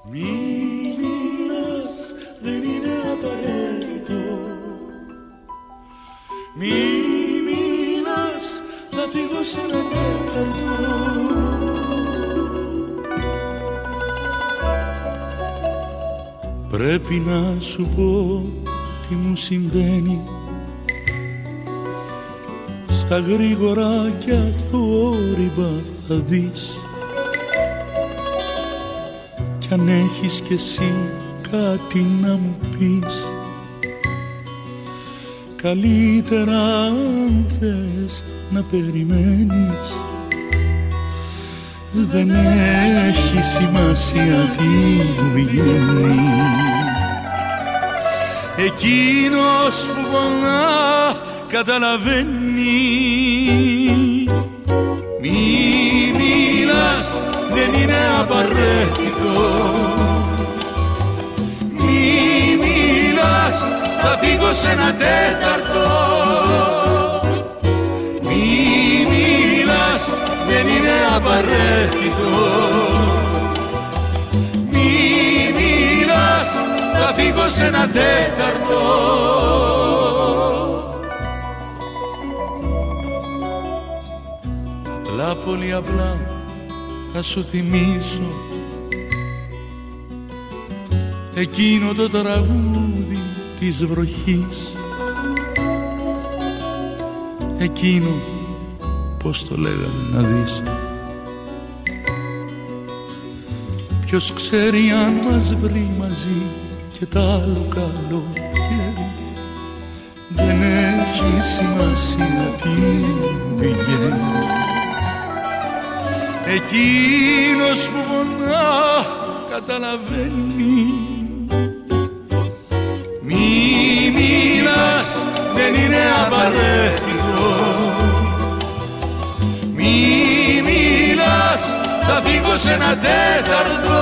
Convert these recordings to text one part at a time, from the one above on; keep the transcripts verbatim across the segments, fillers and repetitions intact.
Μη μιλάς, δεν είναι απαραίτητο. Μη μιλάς, θα φύγω σε ένα τέταρτο. Πρέπει να σου πω τι μου συμβαίνει. Στα γρήγορα και αθόρυβα θα δεις. Κι αν έχεις κι εσύ κάτι να μου πεις, καλύτερα αν θες να περιμένεις. Δεν έχει σημασία τι μου βγαίνει. Εκείνος που πονά καταλαβαίνει. Μη μιλάς, δεν είναι απαραίτητο. Μη μιλάς, θα φύγω σε ένα τέταρτο. Μη μιλάς, δεν είναι απαραίτητο. Μη μιλάς, θα φύγω σε ένα τέταρτο. Απλά, πολύ απλά θα σου θυμίσω εκείνο το τραγούδι της βροχής. Εκείνο, πώς το λέγανε να δεις. Ποιος ξέρει αν μας βρει μαζί και τ' άλλο καλοκαίρι. Δεν έχει σημασία τι βγαίνει. Εκείνος που πονά καταλαβαίνει. Μη μιλάς, δεν είναι απαραίτητο. Μη μιλάς, θα φύγω σε ένα τέταρτο.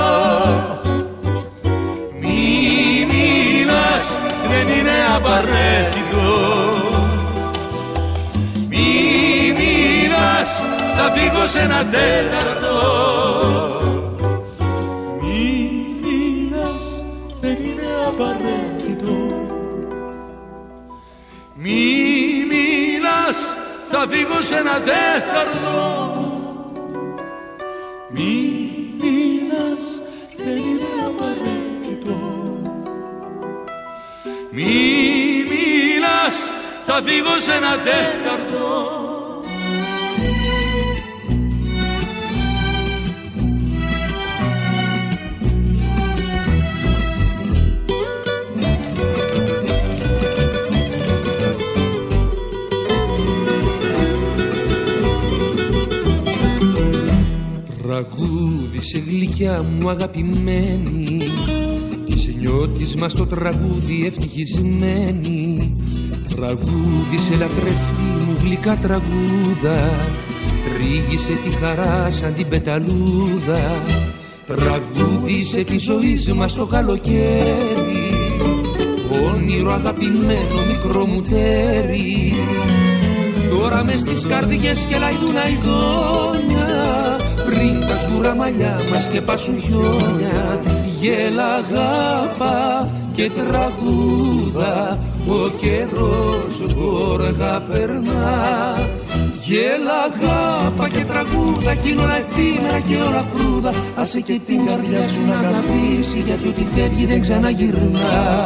Μη μιλάς, δεν είναι απαραίτητο. Μη μιλάς, θα φύγω σε ένα τέταρτο. Μη μιλάς, δεν είναι απαραίτητο. Μη μιλάς, θα φύγω σε ένα τέταρτο. Μη μιλάς, δεν είναι απαραίτητο. Μη μιλάς, θα φύγω σε ένα τέταρτο. Τραγούδισε γλυκιά μου αγαπημένη, της νιώτης μας το τραγούδι ευτυχισμένη. Τραγούδισε λατρευτή μου γλυκά τραγούδα, τρίγησε τη χαρά σαν την πεταλούδα. Τραγούδισε τη ζωή μας το καλοκαίρι, όνειρο αγαπημένο μικρό μου τέρι. Τώρα μες στις καρδιές κελαϊδούν αηδόνια, πριν τα σκούρα μαλλιά μας και πάσουν χιόνια. Γέλα, αγάπα και τραγούδα, ο καιρός γόργα περνά. Γέλα, αγάπα και τραγούδα, κι είναι όλα εφήμερα και όλα φρούδα. Άσε και την καρδιά σου να αγαπήσει, γιατί ό,τι φεύγει δεν ξαναγυρνά.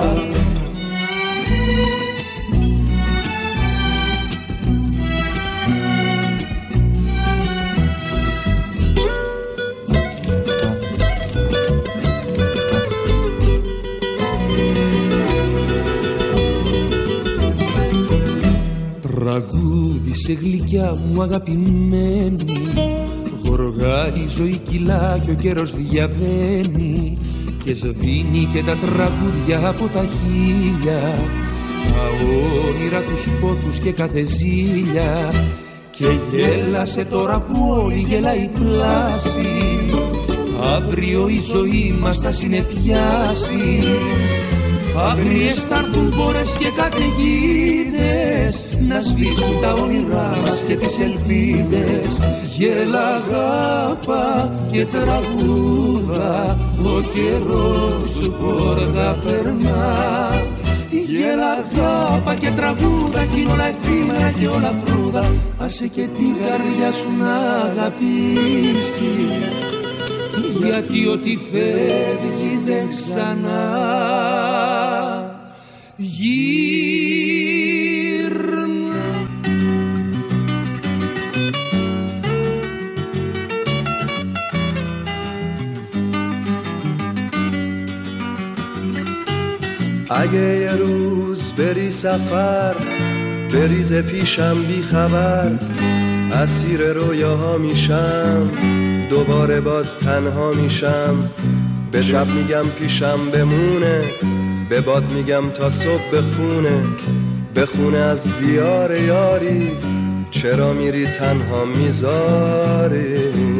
Τραγούδισε γλυκιά μου αγαπημένη, γοργά η ζωή κυλά και ο καιρός διαβαίνει, και σβήνει και τα τραγούδια από τα χείλια, τα όνειρα, τους πόθους και κάθε ζήλια. Και γέλασε τώρα που όλη γελάει πλάση, αύριο η ζωή μας θα συνεφιάσει. Αγριές θα έρθουν πόρες και καταιγίδες να σβήσουν τα όνειρά μας και τις ελπίδες. Γέλα, αγάπα και τραγούδα, ο καιρός σου πόργα περνά. Γέλα, αγάπα και τραγούδα, κι είναι όλα εφήμερα και όλα φρούδα. Άσε και την καρδιά σου να αγαπήσει, γιατί ό,τι φεύγει δεν ξανά γύρνα. اگه یه روز بری سفر بریزه پیشم بی خبر، اسیر رویاها میشم دوباره باز تنها میشم. به شب میگم پیشم بمونه، به باد میگم تا صبح بخونه، بخونه از دیار یاری، چرا میری تنها میذاری.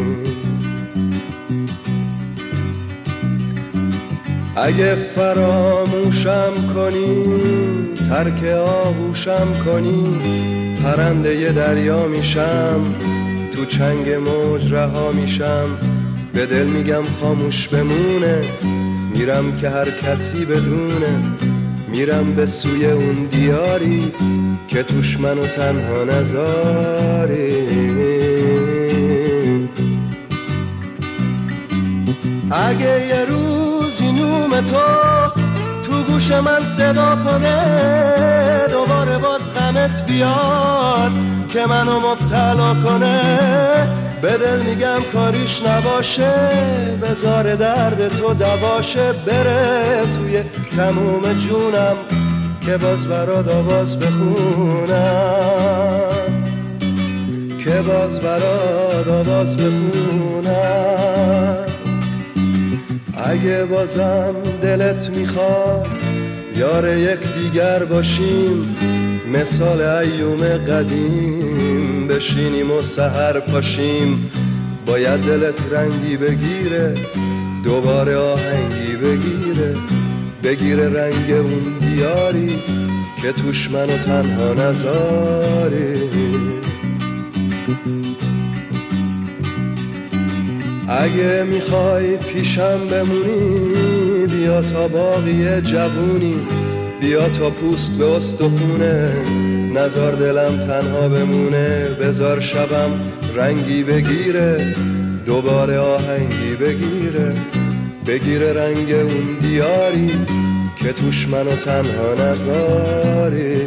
اگه فراموشم کنی ترک آغوشم کنی، پرنده ی دریا میشم تو چنگ موج رها میشم. به دل میگم خاموش بمونه، میرم که هر کسی بدونه، میرم به سوی اون دیاری که توش منو تنها نذاری. اگه یه روزی نوم تو تو گوش من صدا کنه، دوباره باز غمت بیاد که منو مبتلا کنه، به دل میگم کاریش نباشه، بذار درد تو دواشه، بره توی تموم جونم که باز برات آواز بخونم، که باز برات آواز بخونم. اگه بازم دلت میخواد یار یک دیگر باشیم، مثال ایوم قدیم بشینیم و سحر پاشیم. باید دلت رنگی بگیره، دوباره آهنگی بگیره، بگیره رنگ اون دیاری که توش منو تنها نذاری. اگه میخوای پیشم بمونی بیا تا باقی جوونی، بیا تا پوست به استخونه، نذار دلم تنها بمونه، بذار شبم رنگی بگیره، دوباره آهنگی بگیره، بگیره رنگ اون دیاری که توش منو تنها نذاری.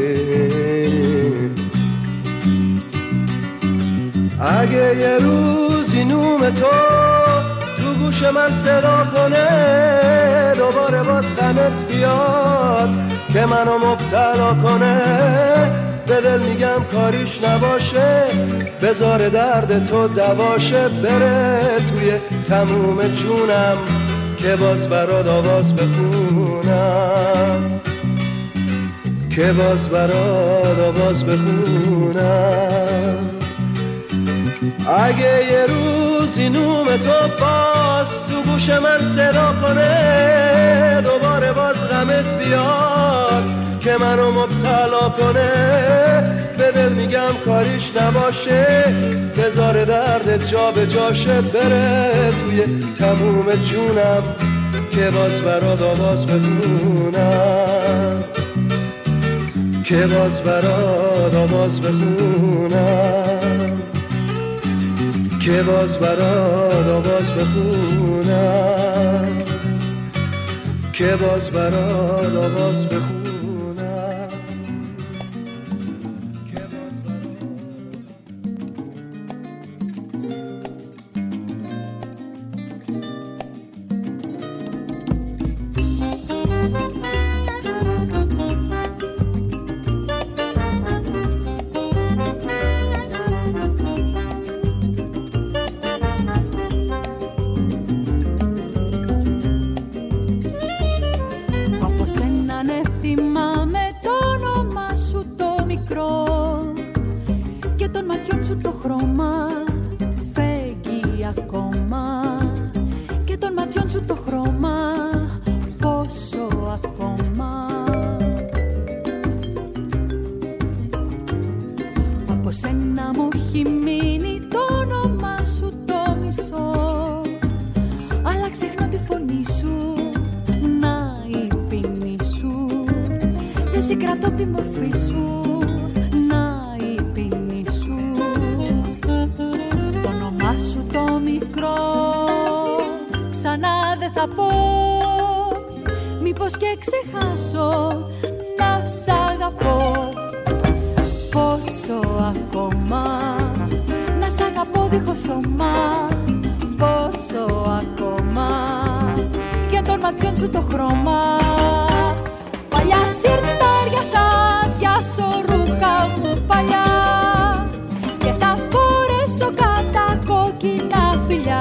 اگه یه روزی نوم تو تو گوش من صدا کنه، دوباره باز غمت بیاد که منو مبتلا کنه، به دل میگم کاریش نباشه، بذار درد تو دواشه، بره توی تموم جونم که باز برات آواز بخونم، که باز برات آواز بخونم. اگه یه روزی نوم تو باز تو گوش من صدا کنه، دوباره باز غمت بیاد که منو مبتلا کنه، به دل میگم کاریش نباشه، بذار دردت جا به جاشه، بره توی تموم جونم که باز برات آواز بخونم، که باز برات آواز بخونم، که باز برات آواز بخونم، که باز برات آواز بخونم. Ακόμα συγκρατώ τη μορφή σου, να η ποινή σου, το όνομά σου το μικρό, ξανά δεν θα πω, μήπως και ξεχάσω να σ' αγαπώ. Πόσο ακόμα να σ' αγαπώ δίχως σώμα, πόσο ακόμα για των ματιών σου το χρώμα. Παλιά σιρτάρια θα πιάσω ρούχα μου παλιά και θα φορέσω κατά κόκκινα φιλιά.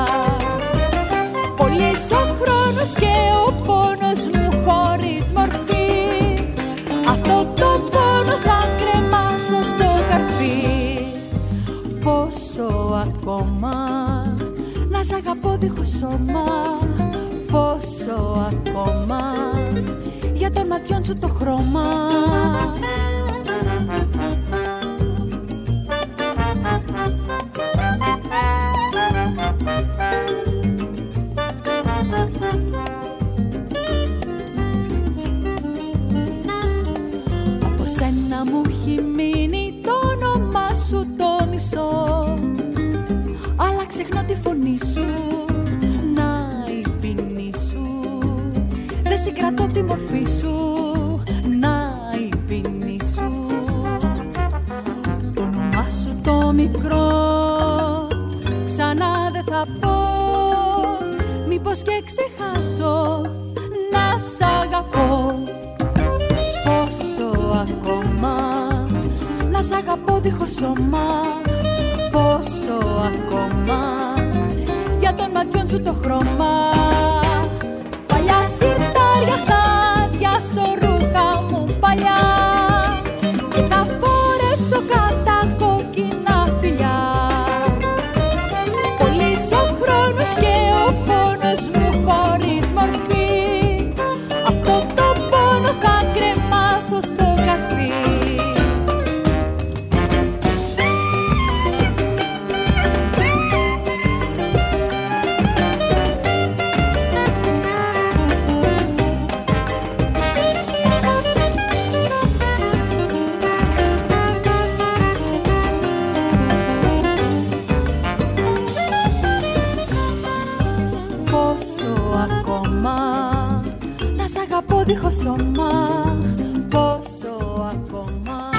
Πολύς ο χρόνος και ο πόνος μου χωρίς μορφή, αυτό το πόνο θα κρεμάσω στο καρφί. Πόσο ακόμα να σ' αγαπώ δίχως σώμα, πόσο ακόμα για των ματιών σου το χρώμα. Από σένα μου έχει μείνει το όνομά σου το μισό, αλλά ξεχνώ τη φωνή σου, να η ποινή σου, δεν συγκρατώ τη μορφή σου, να η ποινή σου, το όνομά σου το μικρό, ξανά δεν θα πω, μήπως και ξεχάσω να σ' αγαπώ. Πόσο ακόμα να σ' αγαπώ δίχως σώμα, πόσο ακόμα για των ματιών σου το χρώμα. Παλιά σιρτάρια θα πιάσω ρούχα μου παλιά και θα φορέσω κατά κόκκινα φιλιά. Πολύς ο χρόνος και ο πόνος μου χωρίς μορφή, αυτό το πόνο θα κρεμάσω στο καρφί. Αγαπώ δίχως σώμα, πόσο ακόμα.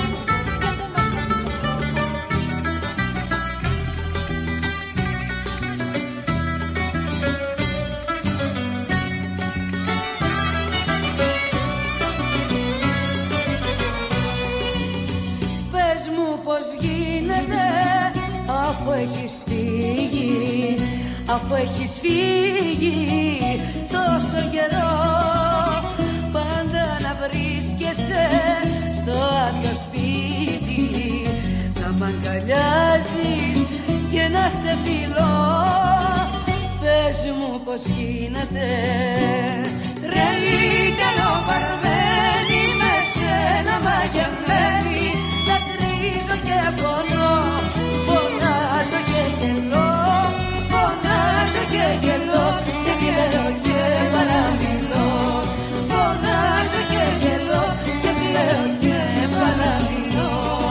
Πες μου πως γίνεται αφού έχεις φύγει, αφού έχεις φύγει τόσο καιρό, πάντα να βρίσκεσαι στο άδειο σπίτι, να μ' αγκαλιάζεις και να σε φιλώ. Πες μου πως γίνεται, τρελή κι αλλοπαρμένη, με σένα μαγεμένη, δακρύζω και πονώ, φωνάζω και γελώ, φωνάζω και γελώ και κλαίω και παραμιλώ, φωνάζω και γελώ και κλαίω και παραμιλώ.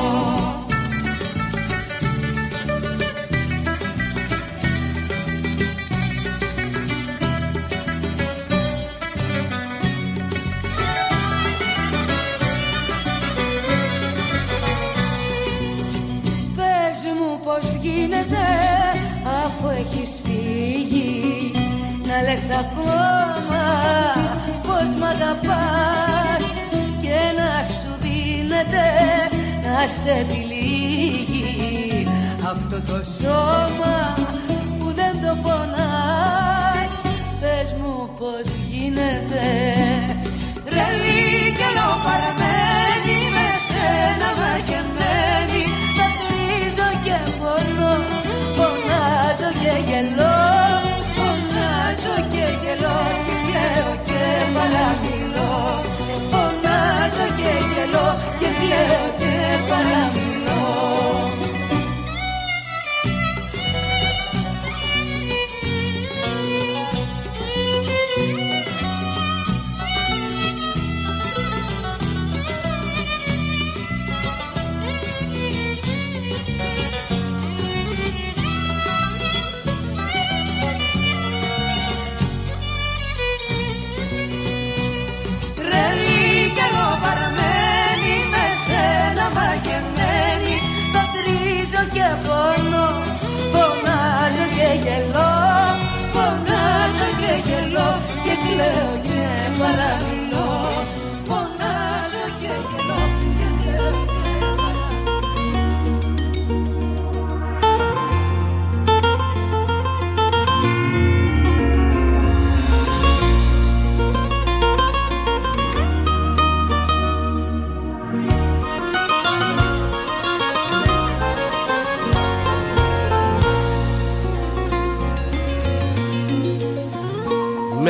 Πες μου πως γίνεται αφού έχεις φύγει, να λες ακόμα πως μ' αγαπάς και να σου δίνεται να σε επιλύγει αυτό το σώμα που δεν το πονάς. Πες μου πως γίνεται, τρελή κι αλλοπαρμένη, με σένα μαγεμένη, δακρύζω και πονώ, φωνάζω και γελώ, φωνάζω και γελώ και κλαίω και παραμιλώ, φωνάζω και γελώ και κλαίω και παραμιλώ.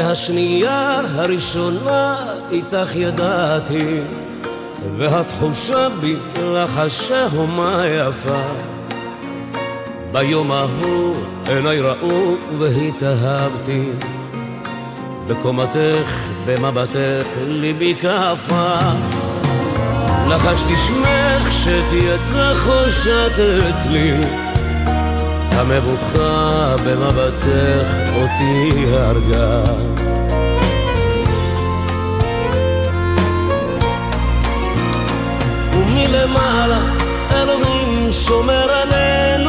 מהשנייה הראשונה איתך ידעתי, והתחושה בי לחשה הומה יפה. ביום ההוא עיניי ראו והתאהבתי, בקומתך במבטך ליבי קפא. לחשתי שמך שתיתך הושטת לי, המבוכה במבטך אותי הרגה. ומלמעלה אלוהים שומר עלינו,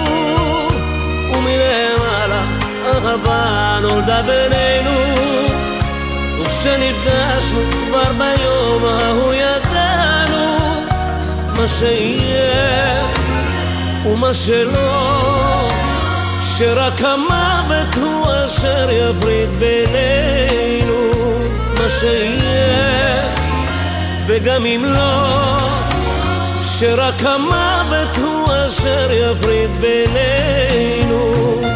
ומלמעלה אהבה נולדה בינינו. וכשנפגשנו כבר ביום ההוא ידענו מה שיהיה ומה שלא, שרק המוות הוא אשר יפריד בינינו. מה שיהיה וגם אם לא, שרק המוות הוא אשר יפריד בינינו.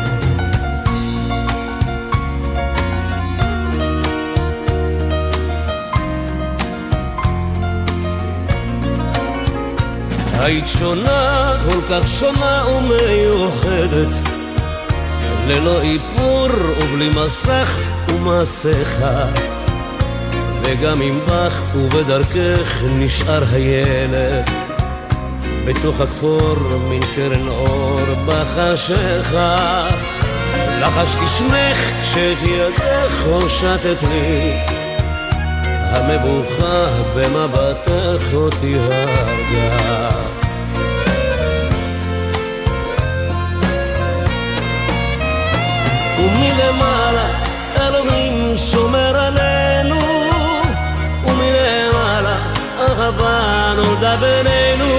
היית שונה, כל כך שונה ומיוחדת, ללא איפור ובלי מסך ומסכה. וגם אם בך ובדרכך נשאר הילד, בתוך הכפור מן קרן אור בחשיכה. לחשתי שמך כשאת ידך הושטת לי, המבוכה במבטך אותי הרגה. ומלמעלה אלוהים שומר עלינו, ומלמעלה אהבה נולדה בינינו.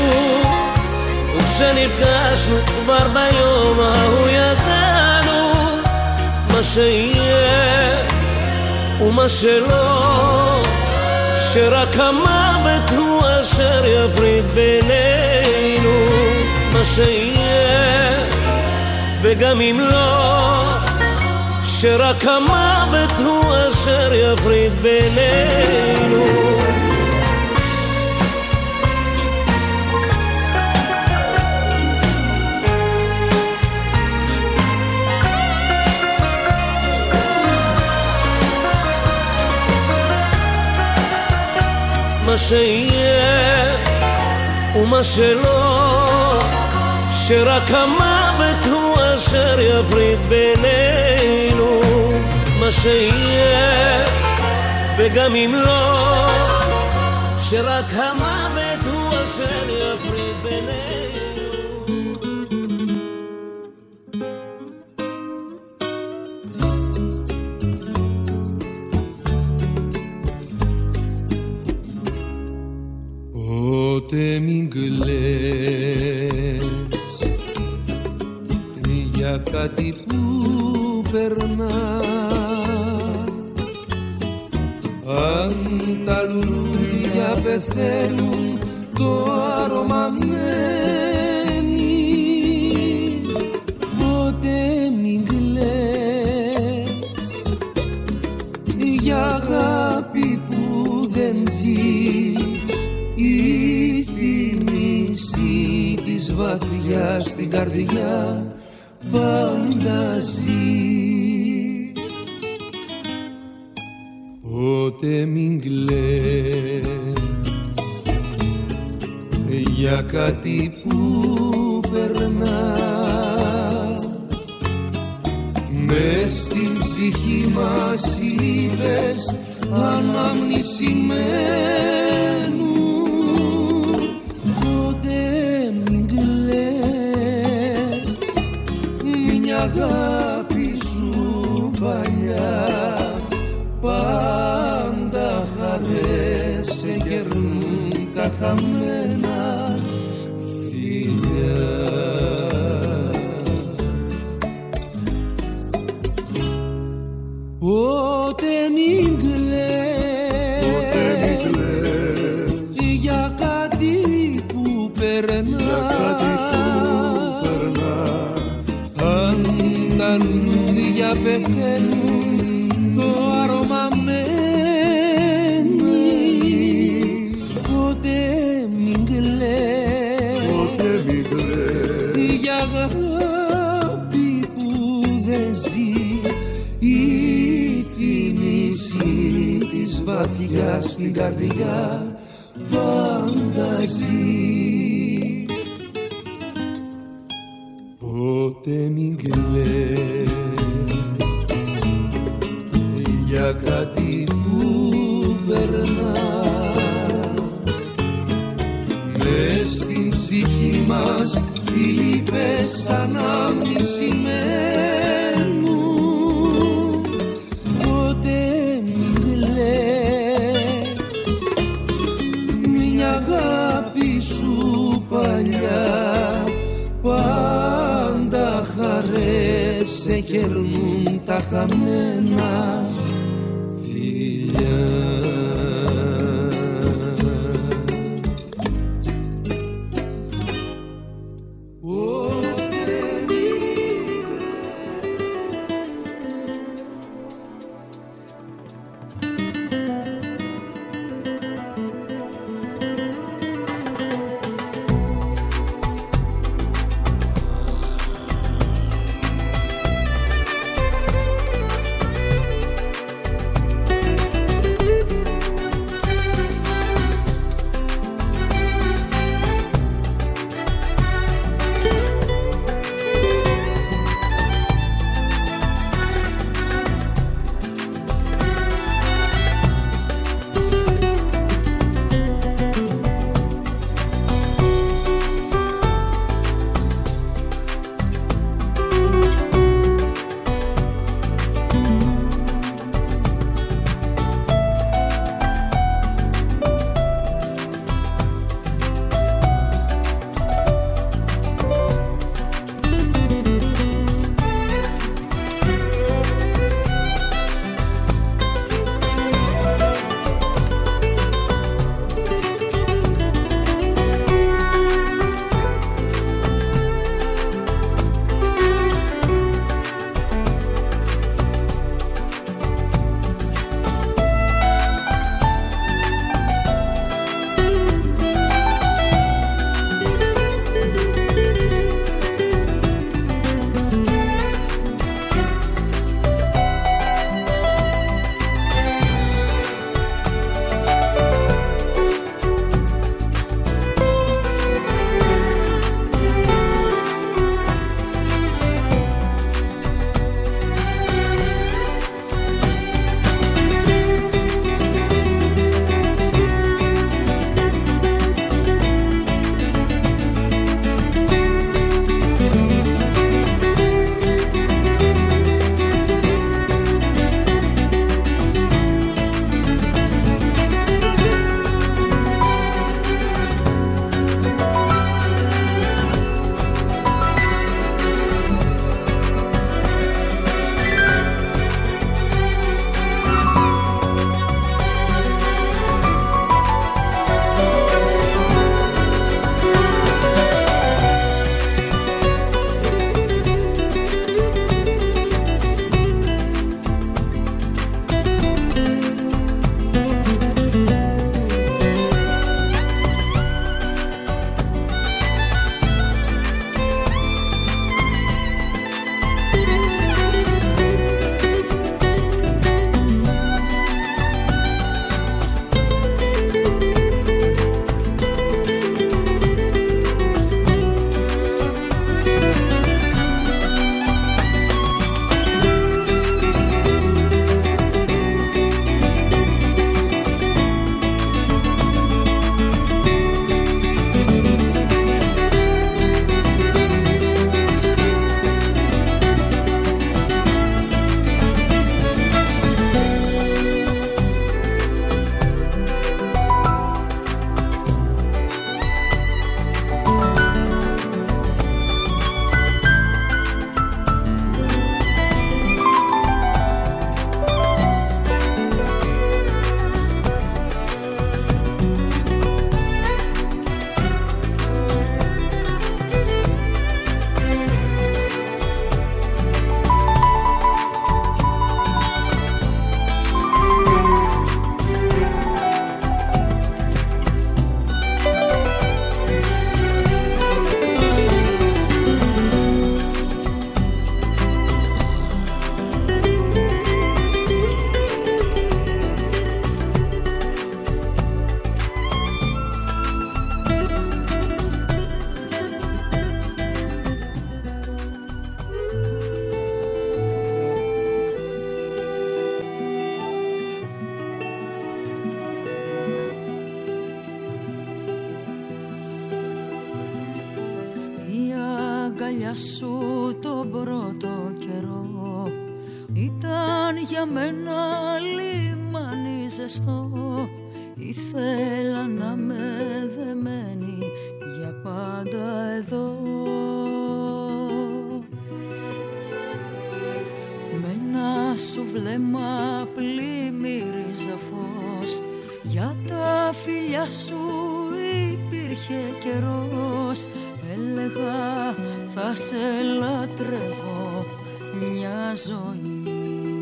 וכשנפגשנו כבר ביום ההוא ידענו מה שיהיה ומה שלא, שרק המוות הוא אשר יפריד בינינו. מה שיהיה וגם אם לא, שרק המוות הוא אשר יפריד בינינו. מה שיהיה ומה שלא, שרק המוות הוא אשר יפריד בינינו. מה שיהיה וגם אם לא, שרק המוות הוא אשר יפריד בינינו. Πότε μην κλαις για κάτι που περνά, αν τα λουλούδια πεθαίνουν το άρωμα μένει. Πότε μην κλαις για αγάπη που δεν ζει, η θύμηση της βαθιάς στην καρδιά πάντα ζει. Πότε μην κλαις για κάτι που περνά, μες στην ψυχή μας είπες αναμνησιμένου. Αγάπη σου παλιά πάντα χαρές σε κερνούν τα χαμένα φιλιά. Πότε μην κλαις για κάτι που περνά, τα λουλούδια πεθαίνουν το άρωμα βαθιά στην καρδιά πάντα ζει. Ποτέ μην κλαις για κάτι που περνά, μες στην ψυχή μας οι λύπες ανάμνηση μένουν. Ποτέ μην κλαις μια αγάπη σου παλιά, πάντα χαρές σε κερνούν τα χαμένα φιλιά. φιλιά σου τον πρώτο καιρό ήταν για μένα λιμάνι ζεστό. Ήθελα να με δεμένη για πάντα εδώ. Με ένα σου βλέμμα πλημμύριζα φως. Για τα φιλιά σου υπήρχε καιρός. Έλεγα θα σε λατρεύω μια ζωή.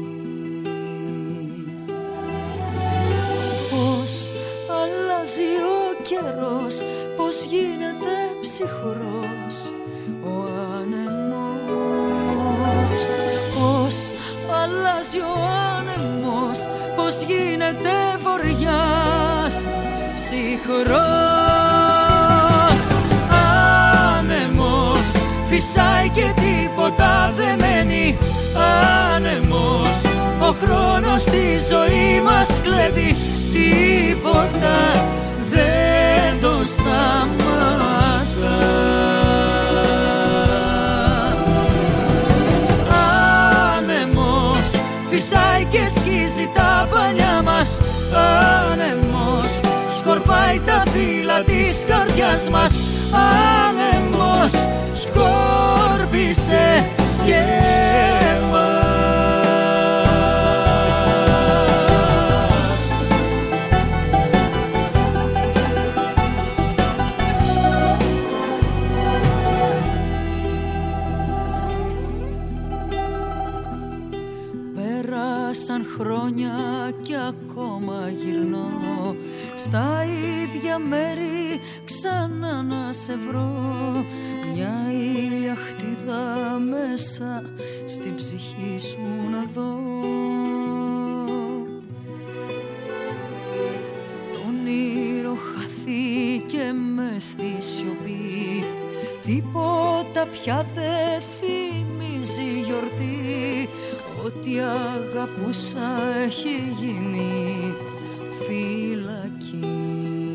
Πώς αλλάζει ο καιρός, πώς γίνεται ψυχρός ο άνεμος. Πώς αλλάζει ο άνεμος, πώς γίνεται βοριάς ψυχρός. Άνεμος φυσάει και τίποτα δεν μένει. Άνεμος, ο χρόνος στη ζωή μας κλέβει. Τίποτα δεν το σταματά. Άνεμος φυσάει και σκίζει τα παλιά μας. Άνεμος σκορπάει τα φύλλα της καρδιάς μας. Άνεμος σκόρπισε και εμάς. Πέρασαν χρόνια κι ακόμα γυρνώ στα ίδια μέρη ξανά να σε βρω. Μια ηλιαχτίδα μέσα στην ψυχή σου να δω. Το όνειρο χαθήκε μες στη σιωπή. Τίποτα πια δεν θυμίζει γιορτή. Ό,τι αγαπούσα έχει γίνει φυλακή.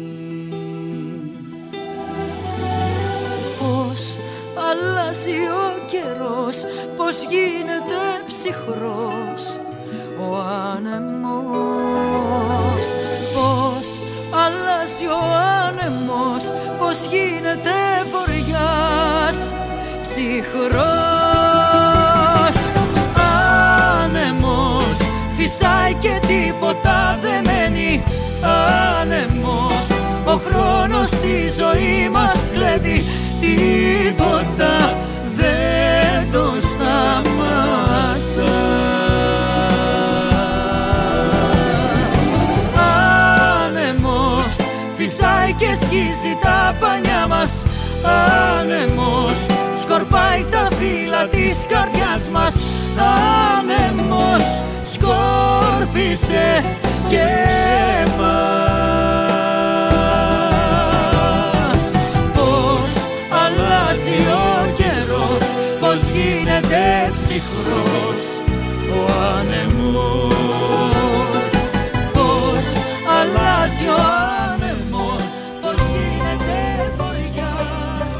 Πώς αλλάζει ο καιρός, πώς γίνεται ψυχρός ο άνεμος. Πώς αλλάζει ο άνεμος, πώς γίνεται βοριάς ψυχρός. Άνεμος φυσάει και τίποτα δεν μένει. Άνεμος, ο χρόνος στη ζωή μας κλέβει. Τίποτα δεν το σταματά. Άνεμος φυσάει και σκίζει τα πανιά μας. Άνεμος σκορπάει τα φύλλα της καρδιάς μας. Άνεμος σκόρπισε και εμάς. Πώς αλλάζει ο καιρός, πώς γίνεται ψυχρός ο άνεμος. Πώς αλλάζει ο άνεμος, πώς γίνεται βοριάς.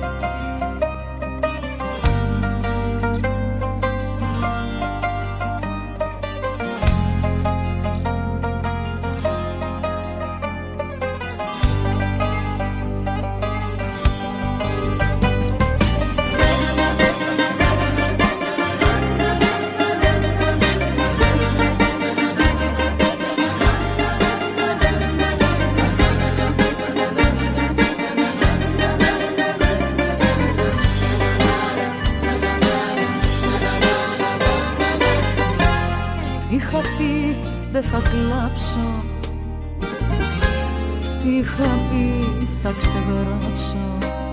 Είχα πει δεν θα κλάψω, είχα πει θα ξεγράψω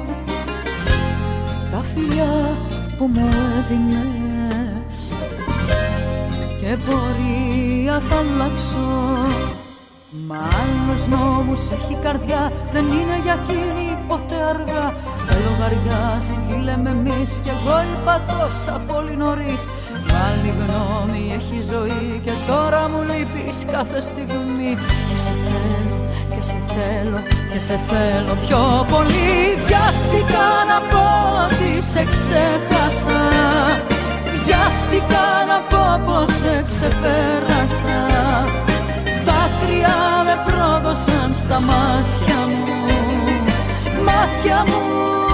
τα φιλιά που μου έδινες και πορεία θα αλλάξω. Μα άλλος νόμους έχει καρδιά, δεν είναι για εκείνη ποτέ αργά. Δεν λογαριάζει τι λέμε εμείς κι εγώ είπα τόσα πολύ νωρίς. Άλλη γνώμη έχει ζωή και τώρα μου λείπεις κάθε στιγμή. Και σε θέλω και σε θέλω και σε θέλω πιο πολύ. Βιάστηκα να πω ότι σε ξέχασα, βιάστηκα να πω πως σε ξεπέρασα. Δάκρυα με πρόδωσαν στα μάτια μου, μάτια μου.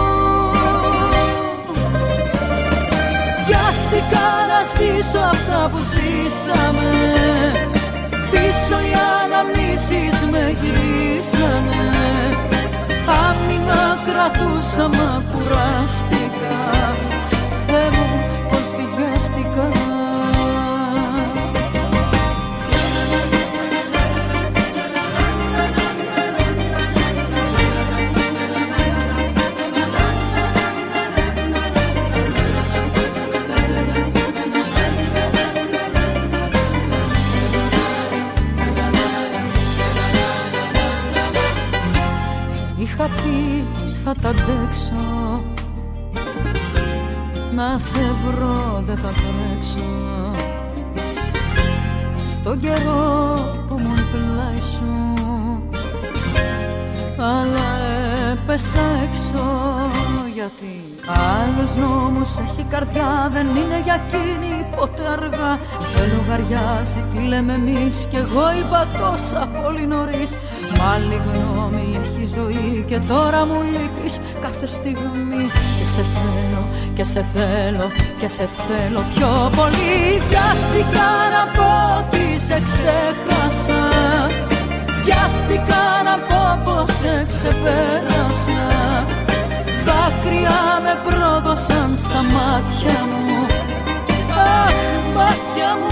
Βιάστηκα να σβήσω αυτά που ζήσαμε, πίσω οι αναμνήσεις με γυρίσανε. Άμυνα κρατούσα μα κουράστηκα, Θεέ μου πως βιάστηκα. Είχα πει θα τα αντέξω, να σε βρω δεν θα τρέξω. Στον καιρό που μου πλάι σου, αλλά έπεσα έξω. Γιατί άλλος νόμος έχει καρδιά, δεν είναι για εκείνη ποτέ αργά. Δεν λογαριάζει τι λέμε εμείς, κι εγώ είπα τόσα πολύ νωρίς. Μα άλλη γνώμη έχει ζωή και τώρα μου λείπεις κάθε στιγμή. Και σε θέλω και σε θέλω και σε θέλω πιο πολύ. Βιάστηκα να πω ότι σε ξέχασα, βιάστηκα να πω πως σε ξεπέρασα. Δάκρυα με πρόδωσαν στα μάτια μου, αχ μάτια μου.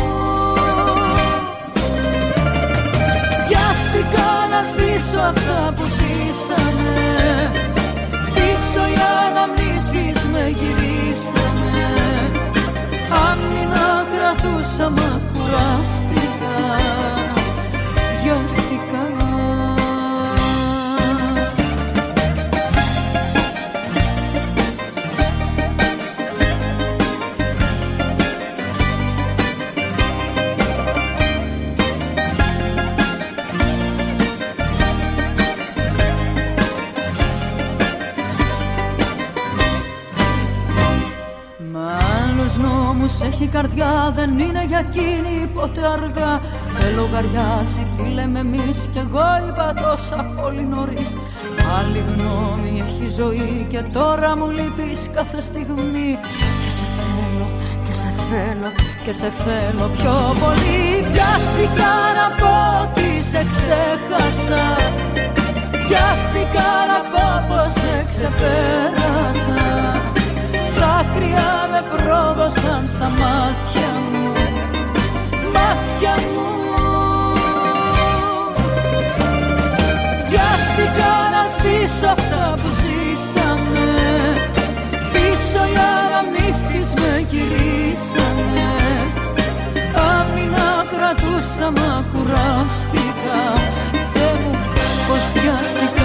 Βιάστηκα να σβήσω αυτά που ζήσαμε, πίσω οι αναμνήσεις με γυρίσανε. Άμυνα κρατούσα μα κουράστηκα, βιάστηκα. Έχει καρδιά, δεν είναι για εκείνη ποτέ αργά. Δεν λογαριάζει τι λέμε εμείς, κι εγώ είπα τόσα πολύ νωρίς. Άλλη γνώμη έχει ζωή και τώρα μου λείπεις κάθε στιγμή. Και σε θέλω και σε θέλω και σε θέλω πιο πολύ. Βιάστηκα να πω ότι σε ξέχασα, βιάστηκα να πω πως σε ξεπέρασα. Δάκρυα με πρόδωσαν στα μάτια μου, μάτια μου. Βιάστηκα να σβήσω αυτά που ζήσαμε, πίσω οι αναμνήσεις με γυρίσανε. Άμυνα κρατούσα μα κουράστηκα, Θεέ μου πως βιάστηκα.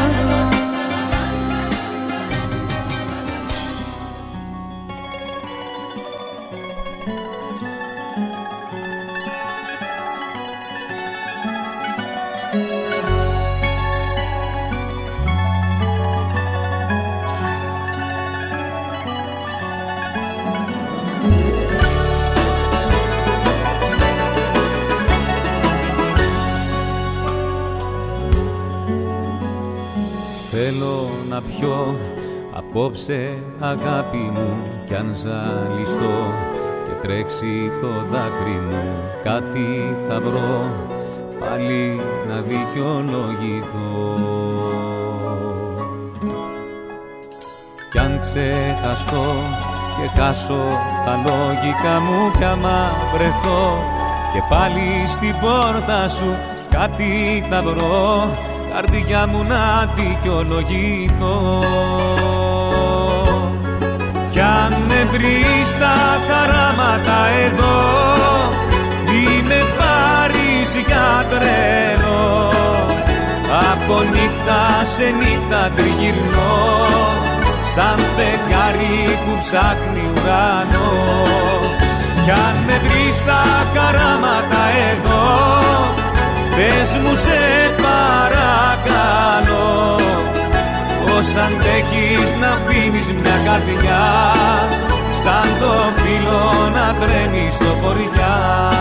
Θέλω να πιω απόψε αγάπη μου, κι αν ζαλιστώ και τρέξει το δάκρυ μου, κάτι θα βρω πάλι να δικαιολογηθώ. Κι αν ξεχαστώ και χάσω τα λογικά μου, κι άμα βρεθώ και πάλι στην πόρτα σου, κάτι θα βρω, καρδιά μου να δικαιολογηθώ. Κι αν με βρεις στα χαράματα εδώ, μη με πάρεις για τρένο. Από νύχτα σε νύχτα τριγυρνώ, σαν φεγγάρι που ψάχνει ουρανό. Κι αν με βρεις στα χαράματα εδώ, πες μου σε παρακαλώ, πως αντέχεις να πίνεις μια καρδιά σαν το φύλλο να τρέμει στο βορειά.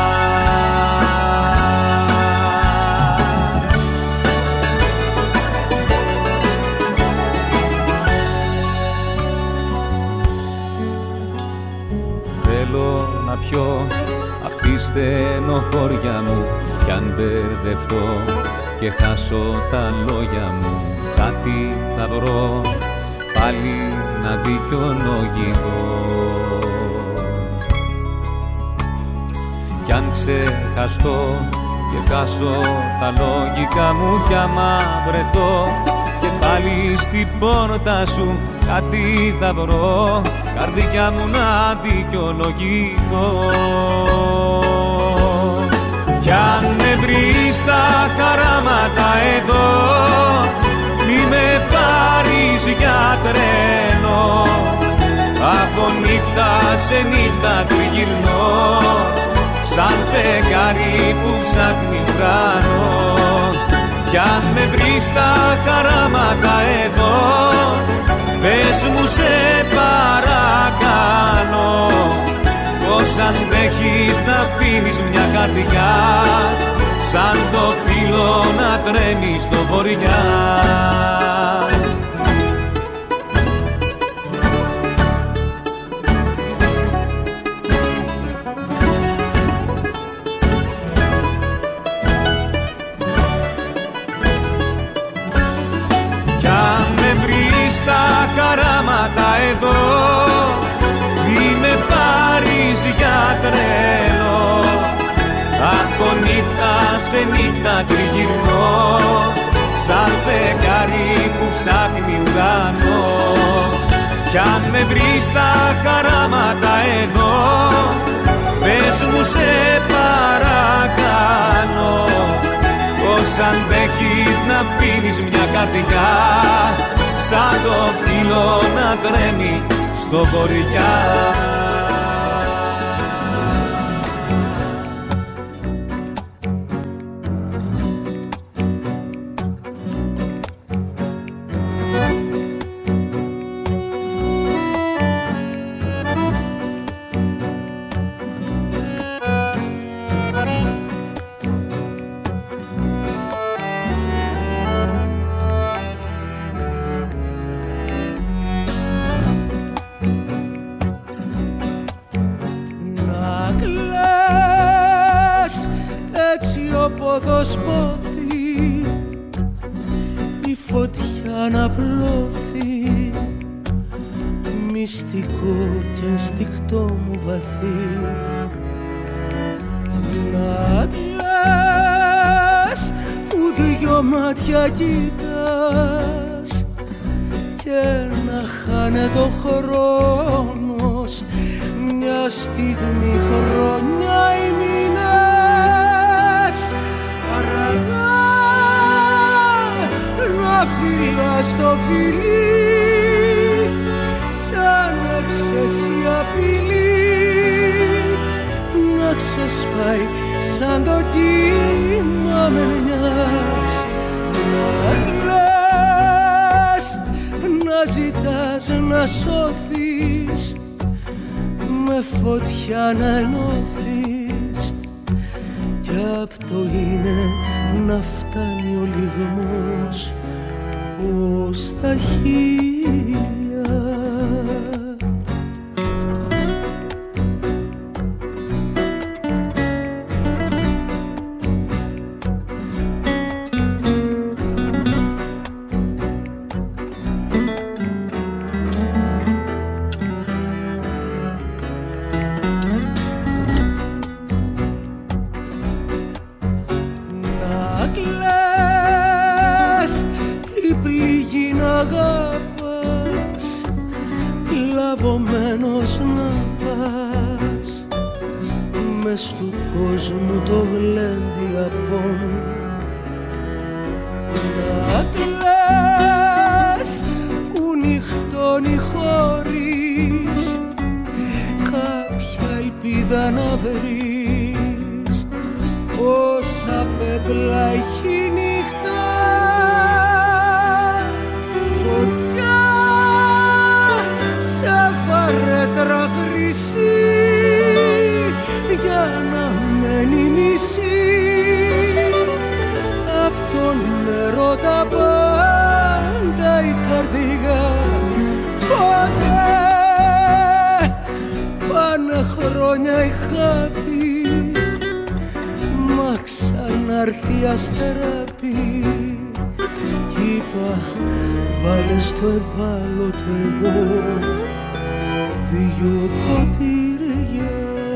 Θέλω να πιω απ' τη στενοχώρια μου κι αν μπερδευτώ και χάσω τα λόγια μου, κάτι θα βρω πάλι να δικαιολογηθώ. Κι αν ξεχαστώ και χάσω τα λογικά μου κι άμα βρεθώ και πάλι στην πόρτα σου, κάτι θα βρω, καρδιά μου να δικαιολογηθώ. Κι αν με βρεις στα χαράματα εδώ, μη με πάρεις για τρένο, από νύχτα σε νύχτα τριγυρνώ, σαν φεγγάρι που ψάχνει ουρανό. Κι αν με βρεις στα χαράματα εδώ, πες μου σε παρακαλώ, πως αντέχεις να πίνεις μια καρδιά σαν το φύλλο να τρέμει στο βορειά. Κι αν με βρεις στα χαράματα εδώ, μη με πάρεις για τρέλο, από νύχτα σε νύχτα τριγυρνώ, σαν φεγγάρι που ψάχνει ουρανό. Κι αν με βρεις στα χαράματα εδώ, πες μου σε παρακαλώ, πως αντέχεις να πίνεις μια καρδιά σαν το φύλλο να τρέμει στο βορειά. Ποδοσπόθη η φωτιά να πλώθει, μυστικό και ενστικτό μου βαθύ. Να κλαις που δυο μάτια κοιτάς και να χάνεται ο χρόνος, μια στιγμή, χρόνια ή μήνες, αργά να φυλάς το φιλί σαν έξεση απειλή, να ξεσπάει σαν το κύμα μενιάς. Να κλαις, να ζητάς να σώθεις, με φωτιά να ενώθεις, κι απ' το είναι να φτάνει ο λιγμός ως τα χείλια. Λαβωμένος να πας μες του κόσμου το γλέντι απόν. Να κλαις που νυχτώνει χωρίς κάποια ελπίδα να βρεις, όσα πέπλα έχει νύχτα, φωτιά έρθει αστεράπη κι είπα βάλε στο ευάλωτο εγώ δυο ποτήρια.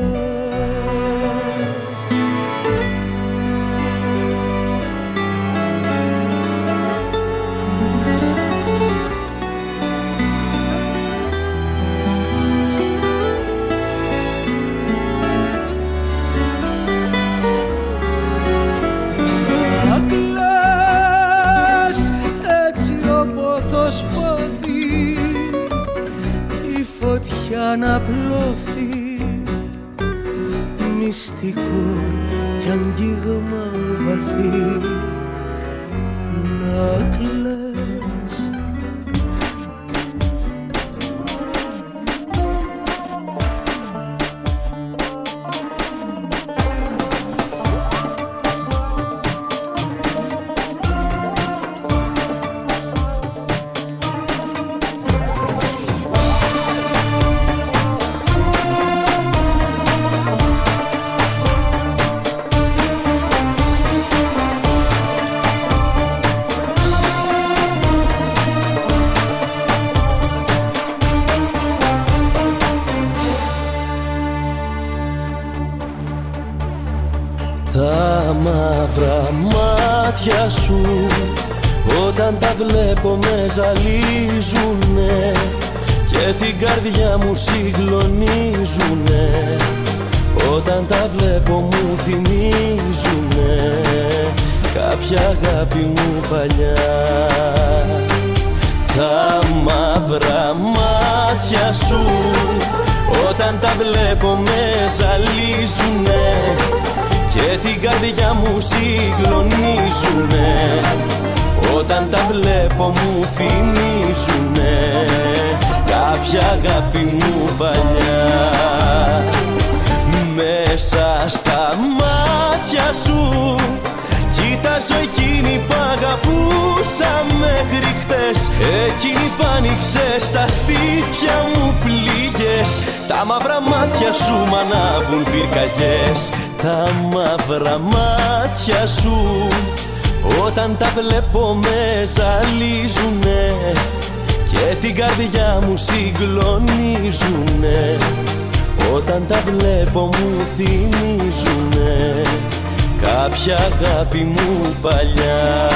Φωτιά να πλώθει μυστικό κι αγγίγμα βαθύ να κλαις. Σου όταν τα βλέπω με ζαλίζουνε και την καρδιά μου συγκλονίζουνε. Όταν τα βλέπω μου θυμίζουνε κάποια αγάπη μου παλιά. Τα μαύρα μάτια σου όταν τα βλέπω με ζαλίζουνε και την καρδιά μου συγκλονίζουνε. Όταν τα βλέπω μου θυμίζουνε κάποια αγάπη μου παλιά. Μέσα στα μάτια σου κοίταζω εκείνη που αγαπούσα μέχρι χτες. Εκείνη που άνοιξε στα στήθια μου πληγές. Τα μαύρα μάτια σου μ' ανάβουν πυρκαγιές. Τα μαύρα μάτια σου όταν τα βλέπω με ζαλίζουνε και την καρδιά μου συγκλονίζουνε. Όταν τα βλέπω μου θυμίζουνε κάποια αγάπη μου παλιά.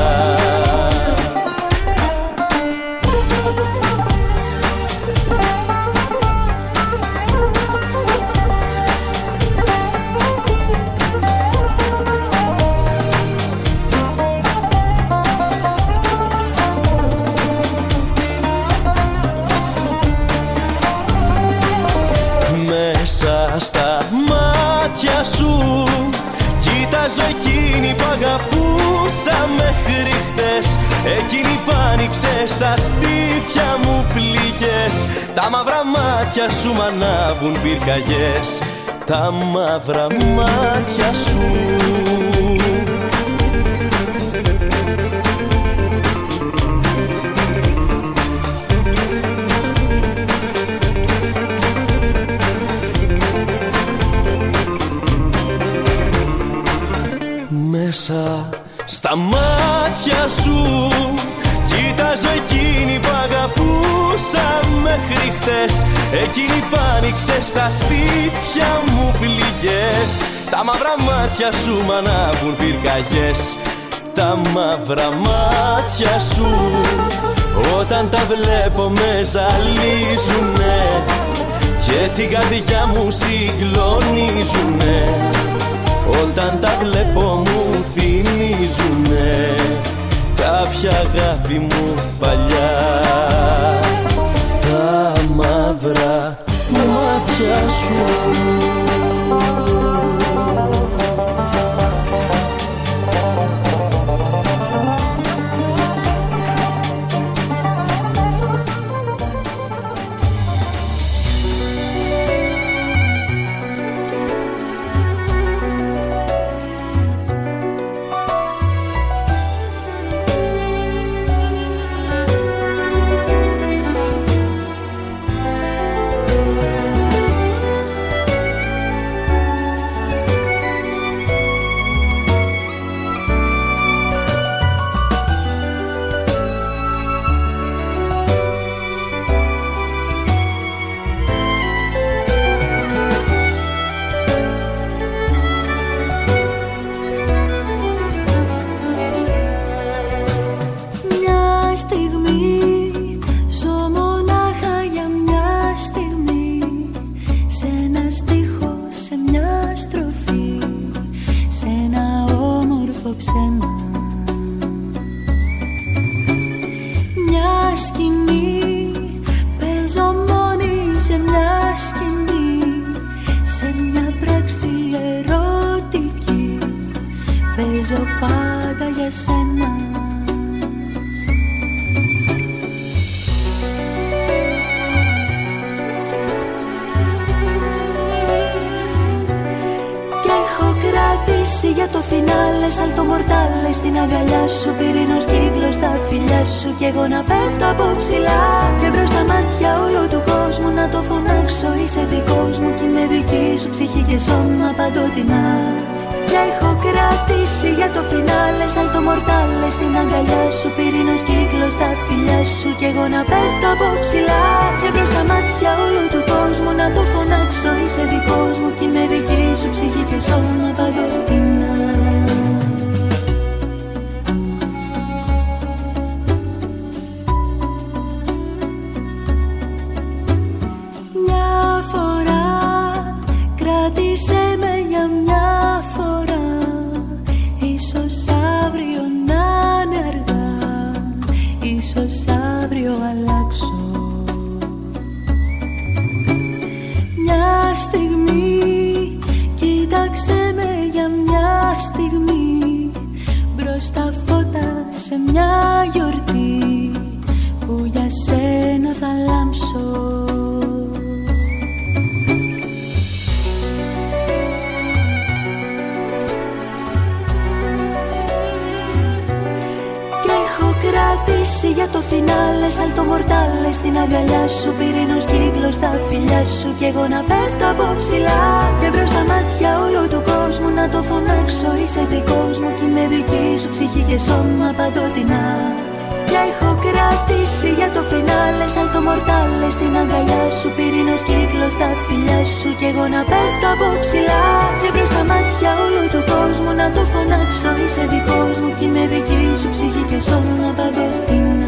Στα μάτια σου κοίταζω εκείνη που αγαπούσα μέχρι χτες. Εκείνη που άνοιξε στα στήθια μου πληγές. Τα μαύρα μάτια σου μ' ανάβουν πυρκαγιές. Τα μαύρα μάτια σου μέσα στα μάτια σου κοίταζω εκείνη που αγαπούσα μέχρι χτες. Εκείνη που άνοιξε στα στήθια μου πληγές. Τα μαύρα μάτια σου μ' ανάβουν πυρκαγιές. Τα μαύρα μάτια σου όταν τα βλέπω με ζαλίζουνε και την καρδιά μου συγκλονίζουνε. Όταν τα βλέπω μου θυμίζουνε κάποια αγάπη μου παλιά. Τα μαύρα μάτια σου ψέμα. Μια σκηνή, παίζω μόνη σε μια σκηνή, σε μια πράξη ερωτική, παίζω πάντα για σένα. Για το φινάλε, σαλτο μορτάλε, στην αγκαλιά σου, πυρήνος κύκλος στα φιλιά σου, κι εγώ να πέφτω από ψηλά και μπρος στα μάτια όλου του κόσμου να το φωνάξω, είσαι δικός μου κι είμαι δική σου ψυχή και σώμα παντοτινά. Και έχω κρατήσει για το φινάλε, σαλτο μορτάλε, στην αγκαλιά σου, πυρήνος κύκλος στα φιλιά σου, κι εγώ να πέφτω από ψηλά και μπρος στα μάτια όλου του κόσμου να το φωνάξω, είσαι δικός μου κι είμαι δική σου ψυχή και σώμα παντοτινά. Μια φορά κράτησε με για μια φορά, ίσως αύριο να είναι αργά, ίσως αύριο αλλάξω. Μια στιγμή, κοίταξε με για μια στιγμή, μπρος στα φώτα σε μια γιορτή που για σένα θα λάμψω. Για το φινάλε, σαλτο μορτάλε, στην αγκαλιά σου, πυρήνος κύκλος στα φιλιά σου, κι εγώ να πέφτω από ψηλά και μπρος στα μάτια όλου του κόσμου να το φωνάξω, είσαι δικός μου κι είμαι δική σου ψυχή και σώμα παντοτινά. Και έχω κρατήσει για το φινάλε, σαλτο μορτάλε, στην αγκαλιά σου, πυρήνος κύκλος στα φιλιά σου, κι εγώ να πέφτω από ψηλά και μπρος στα μάτια όλου του κόσμου να το φωνάξω, είσαι δικός μου κι είμαι δική σου ψυχή και σώμα παντοτινά.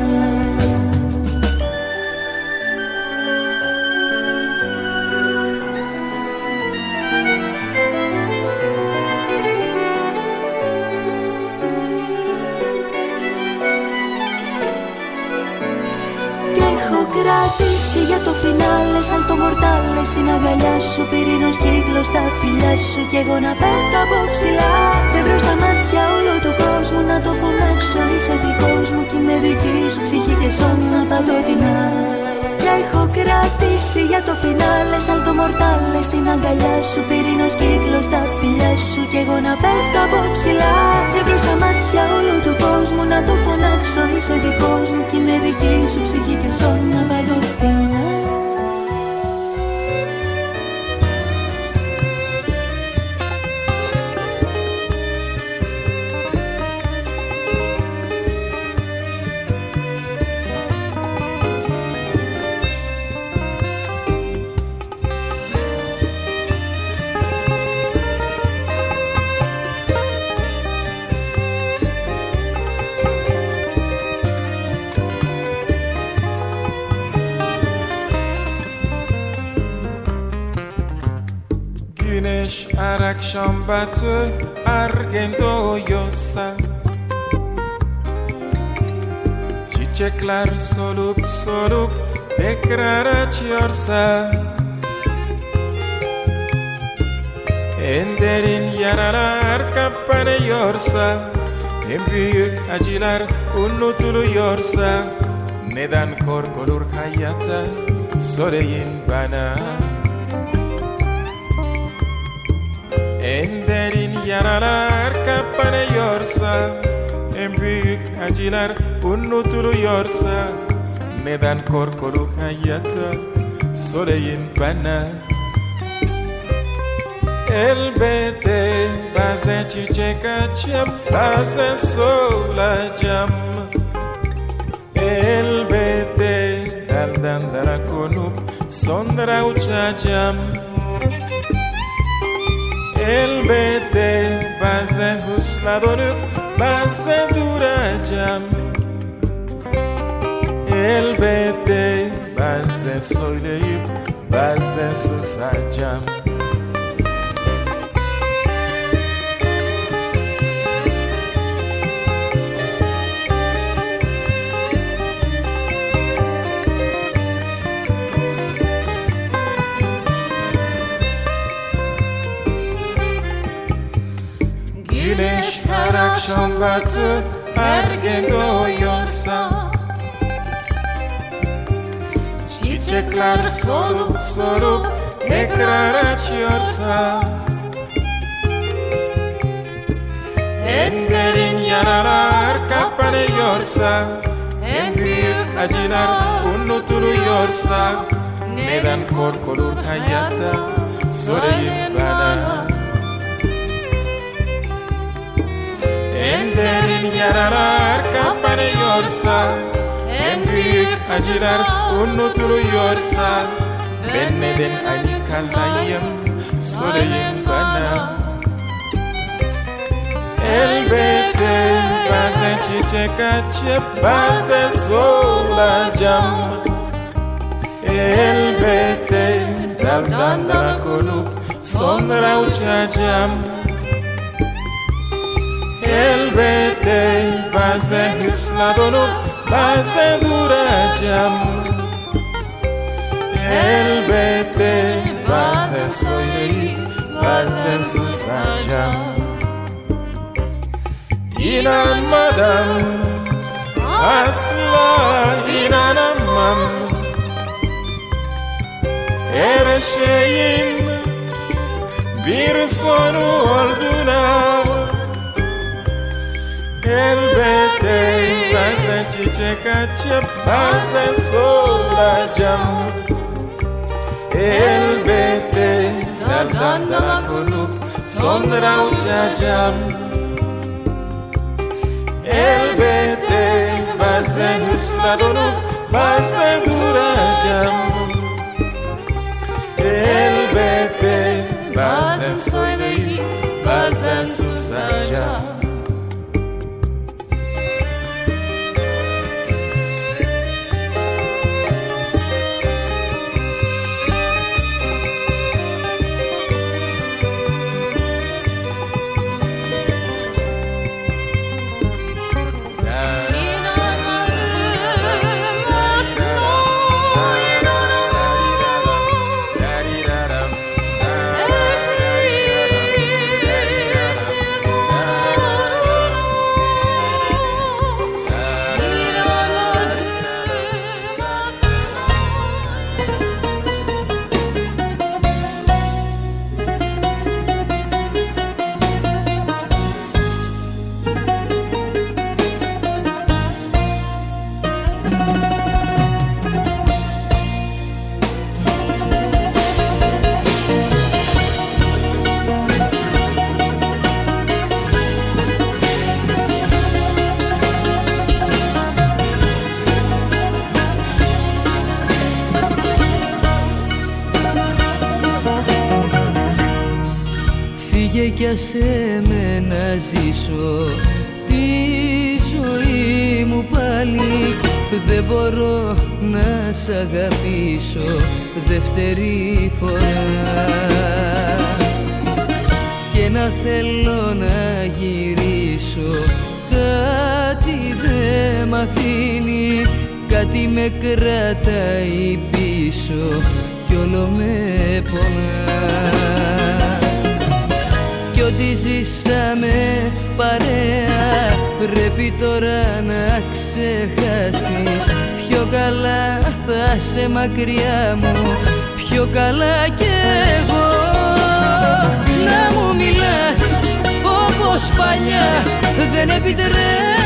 Για το φινάλε, σαλτο μορτάλε, στην αγκαλιά σου, πυρήνος κύκλος στα φιλιά σου, κι εγώ να πέφτω από ψηλά και μπρος στα μάτια όλου του κόσμου να το φωνάξω, είσαι δικός μου κι είμαι δική σου ψυχή και σώμα παντοτινά. Και έχω κρατήσει για το φινάλε, σαλτο μορτάλε, στην αγκαλιά σου, πυρήνος κύκλος στα φιλιά σου, κι εγώ να πέφτω από ψηλά και μπρος στα μάτια όλου του κόσμου να το φωνάξω, είσαι δικός μου κι είμαι δική σου ψυχή και σώμα παντοτινά. Her akşam batı ergen doğuyorsa, çiçekler solup solup tekrar açıyorsa, en derin yaralar kapanıyorsa, en büyük acılar unutuluyorsa, neden korkulur hayatta söyleyin bana. En derin yaralar kapanıyorsa, en büyük acılar unutuluyorsa, neden korkulur hayatta söyleyin bana. Elbette bazen çiçek açıp bazen solacağım, elbette daldan dala konup sonra uçacağım. Elbette bazen hızla dönüp bazen duracağım, elbette bazen söyleyip bazen susacağım. şambatu ergen doyuyorsa, çiçekler solup solup tekrar açıyorsa, en derin yaralar kapanıyorsa, en büyük acılar unutuluyorsa, neden korkulur hayatta sorayım bana. En derin yaralar kapanıyorsa, en büyük acılar unutuluyorsa, ben neden aynı kalayım sorayım bana. Elbette bazen çiçek açıp bazen solacağım. Elbette daldan dala konup sonra uçacağım. Elbette bazen hızla donup bazen duracağım. Elbette bazen söyleyip bazen susacağım. İnanmadan asla inanamam, her şeyin bir sonu olduğuna. Elbette bazen çiçek açıp bazen solacağım. Elbette daldan dala konup sonra uçacağım. Elbette bazen hızla donup bazen duracağım. Elbette bazen söyleyip bazen susacağım. Κι ας εμένα ζήσω τη ζωή μου πάλι, δεν μπορώ να σ' αγαπήσω δεύτερη φορά. Και να θέλω να γυρίσω, κάτι δεν μ' αφήνει, κάτι με κρατάει πίσω κι όλο με πονά. Κι ό,τι ζήσαμε παρέα πρέπει τώρα να ξεχάσεις. Πιο καλά θα σε μακριά μου, πιο καλά κι εγώ. Να μου μιλάς όπως παλιά δεν επιτρέπεται,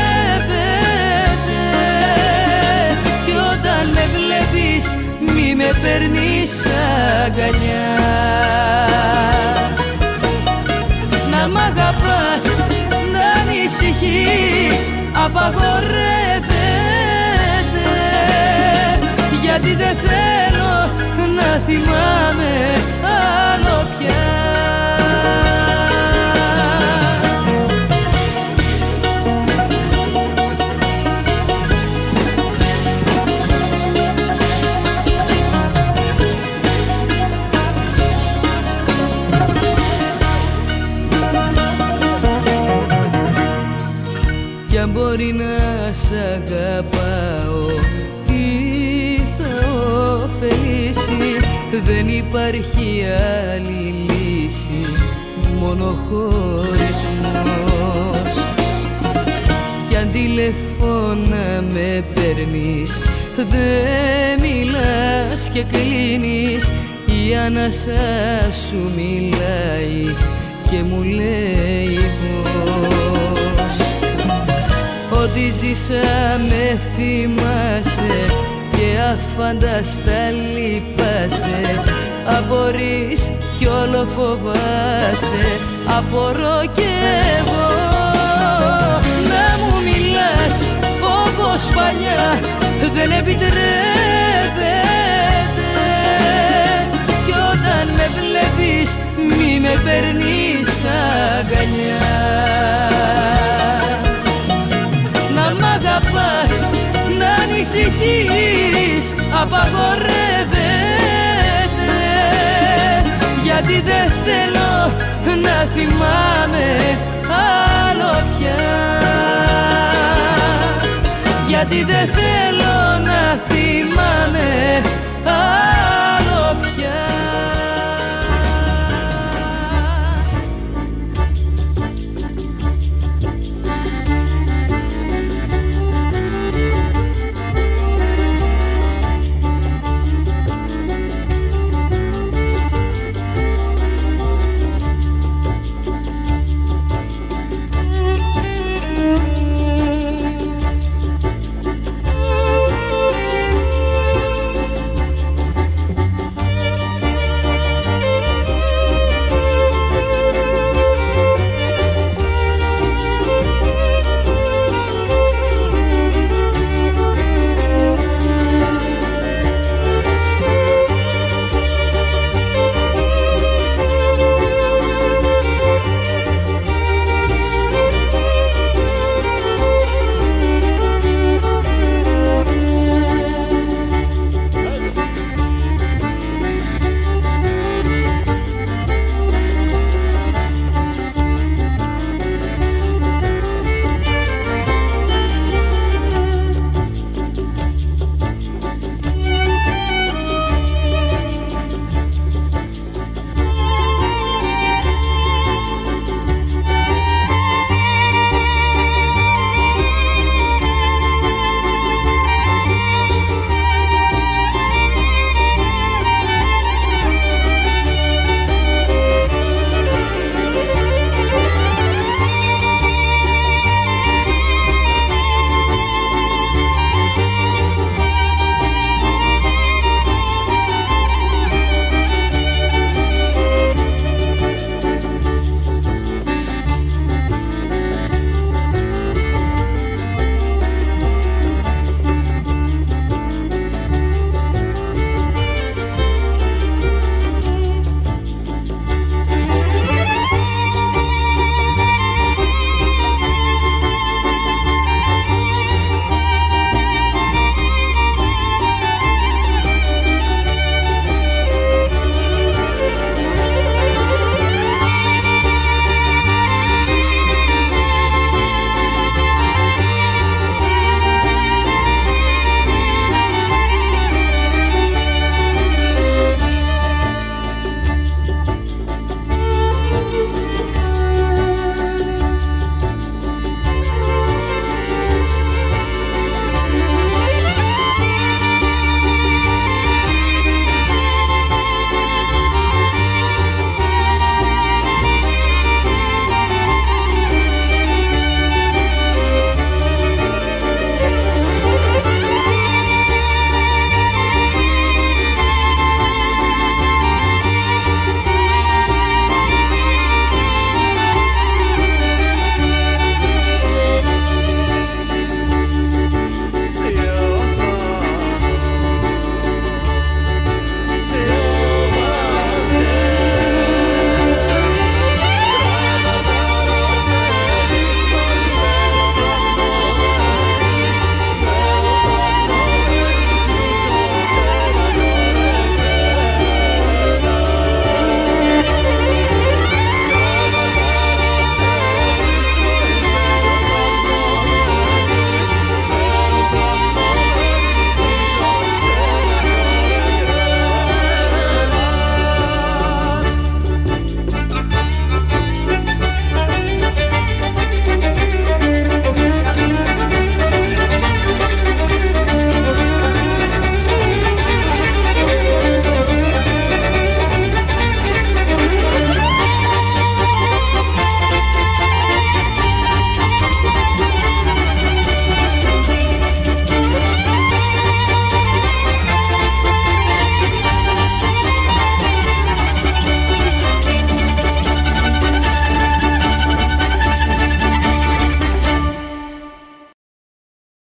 κι όταν με βλέπεις μη με παίρνεις αγκαλιά. Να μ' αγαπάς, να ανησυχείς, απαγορεύεται, γιατί δεν θέλω να θυμάμαι άλλο πια. Κι αν μπορεί να σ' αγαπάω, τι θα ωφελήσει, δεν υπάρχει άλλη λύση, μόνο χωρισμός. σαν τηλεφώνα με παίρνεις, δε μιλάς και κλείνεις. Η ανάσα σου μιλάει και μου λέει πως ό,τι ζήσα με θυμάσαι και αφάνταστα λυπάσαι. Απορείς κι όλο φοβάσαι, απορώ κι εγώ. Να μου μιλάς όπως παλιά δεν επιτρέπεται, κι όταν με βλέπεις μη με παίρνεις αγκαλιά. Να μ' αγαπάς, να ανησυχείς απαγορεύεται, γιατί δεν θέλω να θυμάμαι άλλο πια, γιατί δεν θέλω να θυμάμαι άλλο.